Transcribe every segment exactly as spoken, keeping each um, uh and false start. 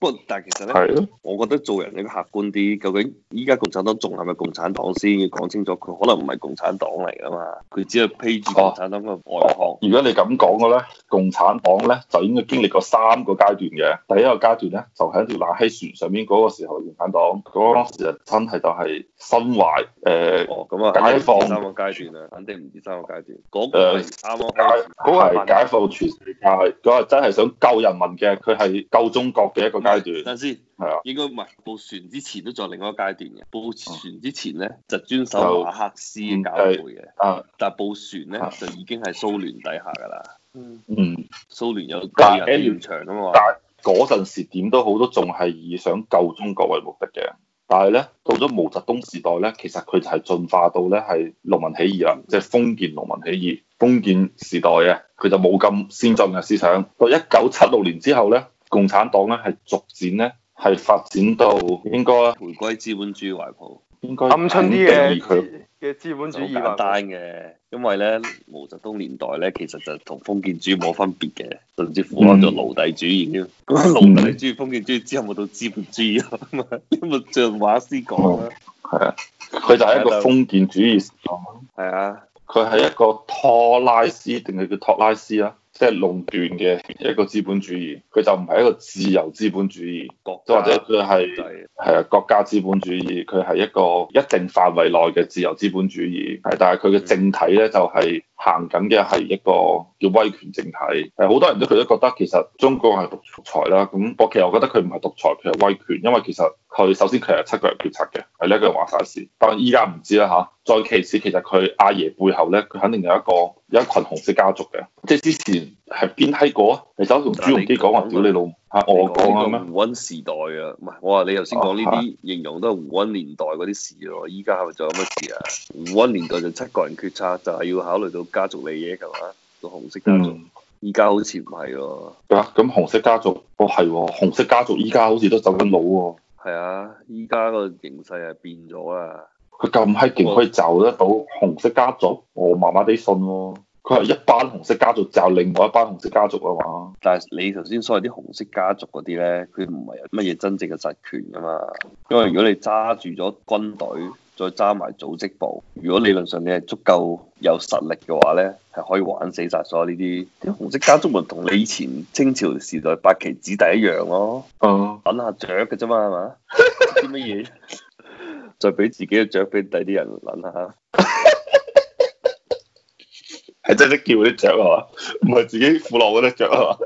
不過但係其實咧， 係咯， 我覺得做人應該客觀啲。究竟依家共產黨仲係咪共產黨先？要講清楚，佢可能唔係共產黨嚟噶嘛，佢只係披住共產黨嘅外殼。 如果你咁講嘅咧，共產黨咧就應該經歷過三個階段嘅。第一個階段咧，就喺條冷氣船上面嗰個時候，共產黨嗰陣時啊，真係就係心懷誒哦，咁啊， 解放三個階段啊，肯定唔止三個階段。嗰、那個係啱啱開始， 嗰個係解放全世界，嗰個真係想救人民嘅，佢係救中國嘅一個階段。 等先， 係啊， 應該唔係報船之前都仲有另外一個階段嘅。報船之前咧就遵守馬克思嘅教誨嘅， 啊， 但係報船咧就已經係蘇聯底下㗎啦。 嗯， 蘇聯有個但係人現場啊嘛。 但係嗰陣時點都好，都仲係以想救中國為目的嘅。但係咧，到咗毛澤東時代咧，其實佢就係進化到咧係農民起義啦，即係封建農民起義。封建時代嘅佢就冇咁先進嘅思想。到一九七六年之後咧，共產黨咧係逐漸咧係發展到應該回歸資本主義懷抱， 應該鵪鶉啲嘅佢嘅資本主義好簡單嘅，因為咧毛澤東年代咧其實就同封建主義冇分別嘅，甚至乎咗奴隸主義添。咁奴隸主義、封建主義之後冇到資本主義啊嘛，因為像馬克思講啦， 係啊，佢就係一個封建主義。 係啊， 佢係一個托拉斯定係叫托拉斯啊？即係壟斷嘅一個資本主義，佢就唔係一個自由資本主義，即或者佢係係啊國家資本主義，佢係一個一定範圍內嘅自由資本主義，係，但係佢嘅政體咧就係行緊嘅係一個叫威權政體，係好多人都佢都覺得其實中國係獨裁啦，咁我其實我覺得佢唔係獨裁，佢係威權，因為其實佢首先佢係七個人決策嘅，係呢一個人話晒事，但係依家唔知啦嚇。再其次，其實佢阿爺背後咧，佢肯定有一個有一群紅色家族嘅，即係之前係邊閪個啊？你走同朱鎔基講話屌你老母嚇，我講啊咩？ 胡溫時代啊，唔係我話你頭先講呢啲形容都係胡溫年代嗰啲事咯，依家係咪仲有乜事啊？胡溫年代就七個人決策，就係要考慮到家族利益係嘛？個紅色家族，依家、嗯、好似唔係喎。 啊，咁紅色家族，哦係喎，紅色家族依家好似都走緊佬喎。 係啊，依家個形勢係變咗啦。 佢咁閪勁可以就得到紅色家族，我麻麻地信喎。佢係一班紅色家族就另外一班紅色家族啊嘛。 但係你頭先所謂啲紅色家族嗰啲咧，佢唔係有乜嘢真正嘅實權噶嘛。因為如果你揸住咗軍隊，再揸埋組織部，如果理論上你係足夠有實力嘅話咧，係可以玩死晒所有呢啲啲紅色家族，咪同你以前清朝時代八旗子弟一樣咯。 嗯， 等下雀嘅啫嘛，係嘛？啲乜嘢？再俾自己嘅雀俾第啲人諗下， 係真係識叫啲雀係嘛？唔係自己苦落嗰啲雀係嘛？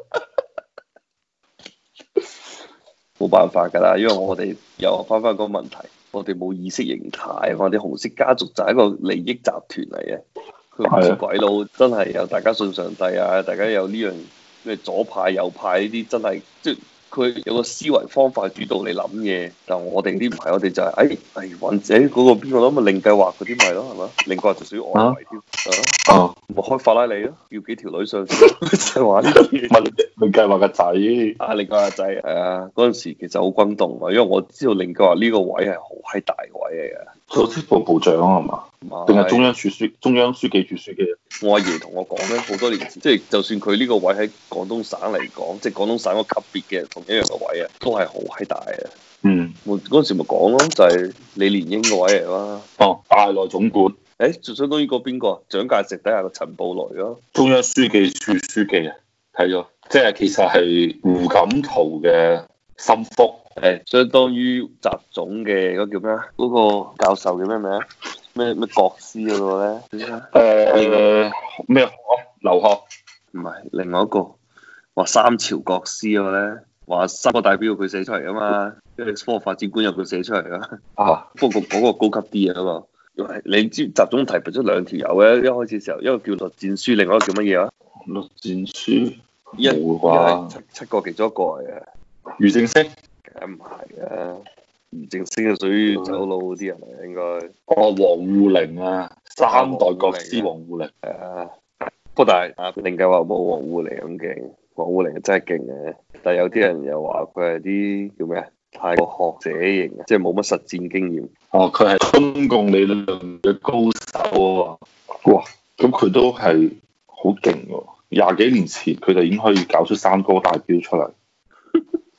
冇辦法㗎啦，因為我哋又翻返個問題，我哋冇意識形態，我哋紅色家族就係一個利益集團嚟嘅，佢唔似鬼佬真係有大家信上帝啊，大家有呢樣咩左派右派呢啲真係即係。佢有個思維方法主導你諗嘢，但係我哋啲唔係，我哋就係誒誒或者嗰個邊個咯，咪另計劃嗰啲咪咯，係嘛？另計劃就屬於外圍添，啊，咪開法拉利咯，要幾條女上車，就係話呢啲嘢。 咪另計劃個仔， 啊，另計劃個仔，係啊，嗰陣時其實好轟動啊，因為我知道另計劃呢個位係好閪大嘅位嚟嘅。 組織部部長係嘛？定係中央處書中央書記處書記？ 我阿爺同我講咧，好多年前，即係就算佢呢個位喺廣東省嚟講，即係廣東省個級別嘅同一樣嘅位啊，都係好閪大嘅。 嗯， 我嗰陣時咪講咯，就係李連英個位嚟啦。 哦，大內總管。 誒，就相當於個邊個？蔣介石底下個陳布雷咯。 中央書記處書記啊，睇咗，即係其實係胡錦濤嘅心腹。 誒，相當於習總嘅嗰個叫咩啊？嗰個教授叫咩名啊？咩咩國師嗰個咧？ 誒咩學？劉鶴？ 唔係，另外一個話三朝國師嗰個咧，話三個代表佢寫出嚟啊嘛，跟住科學發展觀有佢寫出嚟啊。啊，不過嗰個高級啲啊嘛。因為你知習總提拔咗兩條友嘅，一開始時候一個叫栗戰書，另外一個叫乜嘢啊？ 栗戰書一冇啩？ 七七個其中一個嚟嘅。 俞正聲？ 梗唔係啊，俞正聲係屬於走佬嗰啲人嚟，應該。 哦，王滬寧啊，三代國師王滬寧。 係啊，不過但係啊，另計劃冇王滬寧咁勁，王滬寧真係勁嘅。但係有啲人又話佢係啲叫咩啊？太過學者型，即係冇乜實戰經驗。 哦，佢係中共理論嘅高手啊！哇，咁佢都係好勁喎！廿幾年前佢就已經可以搞出三哥大標出嚟。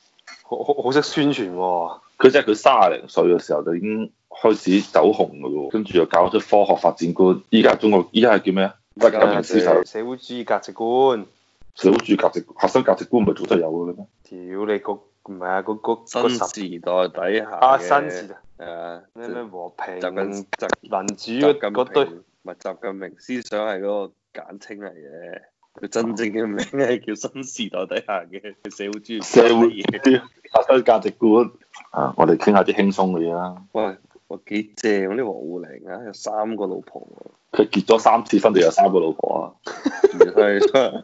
好好好識宣傳喎。 佢即係佢卅零歲嘅時候就已經開始走紅㗎咯，跟住又搞出科學發展觀。依家中國依家係叫咩啊？ 革命思想、 社會主義價值觀。 社會主義價值核心價值觀唔係早就有嘅咩？ 屌你個唔係啊，嗰嗰新時代底下啊新時代係啊咩咩和平習近習民主習近嗰堆， 平唔係習近平思想係嗰個簡稱嚟嘅，佢真正嘅名係叫新時代底下嘅社會主義社會啲核心價值觀啊！我哋傾下啲輕鬆嘅嘢啦。 喂，我幾正嗰啲王滬寧啊，有三個老婆喎。 佢結咗三次婚，定有三個老婆啊？ 係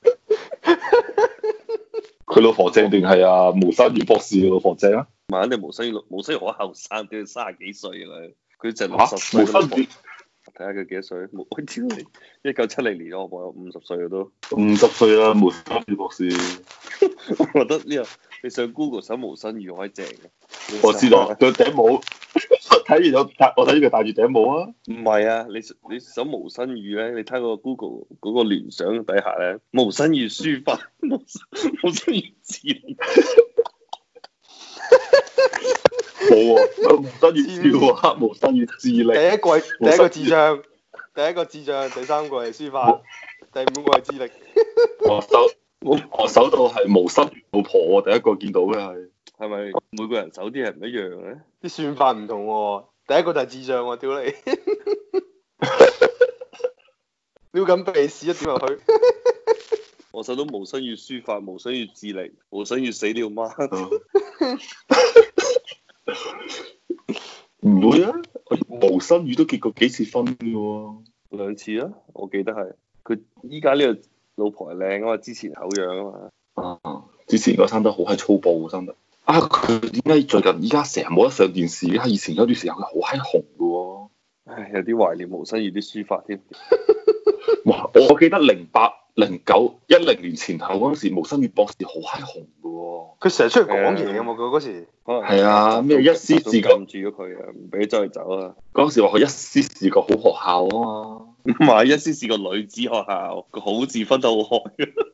佢老婆正定係啊毛新宇博士嘅老婆正啊？ 唔係肯定毛新宇，毛新宇好後生，佢三十幾歲啦，佢就六嚇十歲毛新宇睇下佢幾多歲？冇，我屌你，一九七零年我我有五十歲都。 五十歲啦，毛新宇博士。 我覺得呢個你上 Google 搜毛新宇可以正嘅。 我知道，佢頂帽。睇完咗，我睇佢戴住頂帽啊！ 唔係啊，你你搜毛新宇咧，你睇個 Google 嗰個聯想底下咧，毛新宇書法，毛毛新宇智力， 冇啊！毛新宇笑啊，毛新宇智力。 第一個係第一個智障，第一個智障，第三個係書法，第五個係智力。 我搜我搜到係毛新宇老婆，我第一個見到嘅係。 係咪每個人搜啲係唔一樣嘅？ 啲算法唔同喎，第一個就係智障喎，屌你！撩緊鼻屎一點入去。 我搜到毛新宇書法，毛新宇智力，毛新宇死了嗎？ 唔會啊！毛新宇都結過幾次婚嘅喎。 兩次啊，我記得係。佢依家呢個老婆係靚啊嘛，之前醜樣啊嘛。 啊！之前嗰生得好閪粗暴，生得。啊！佢點解最近依家成日冇得上電視嘅？以前有段時間佢好閪紅嘅喎。 唉，有啲懷念毛新宇啲書法添。 哇！我記得零八、零九、一零年前後嗰陣時，毛新宇博士好閪紅嘅喎。 佢成日出去講嘢嘅嘛，佢嗰時。 係啊，咩一絲自覺撳住咗佢啊，唔俾周去走啊。 嗰陣時話佢一絲自覺好學校啊嘛。 唔係，一絲是個女子學校，個好字分得好開。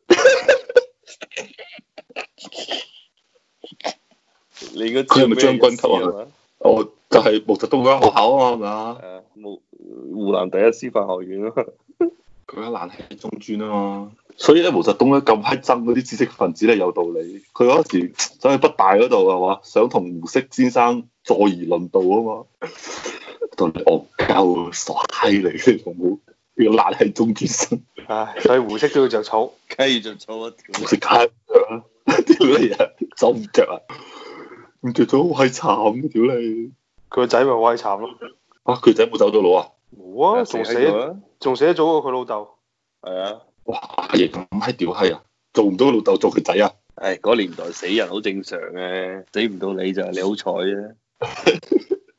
你應該知佢係咪將軍級啊？哦，就係毛澤東嗰間學校啊嘛，係咪啊？ 誒，湖湖南第一師範學院啊。 佢間爛係中專啊嘛。所以咧，毛澤東咧咁閪憎嗰啲知識分子咧，有道理。佢嗰時走去北大嗰度係嘛，想同胡適先生坐而論道啊嘛。到你戇鳩傻閪嚟嘅，好冇？呢個爛係中專生。 唉，所以胡適都要着草， 梗係要着草啊！ 胡適梗係屌你啊，走唔着啊！唔着咗好閪慘嘅，屌你！ 佢個仔咪好閪慘咯。 啊，佢仔冇走咗佬啊？ 冇啊，仲死仲死得早過佢老豆。 係啊！ 哇，阿爺咁閪屌閪啊！做唔到個老豆做佢仔啊！ 唉，嗰年代死人好正常嘅，死唔到你就係你好彩啫。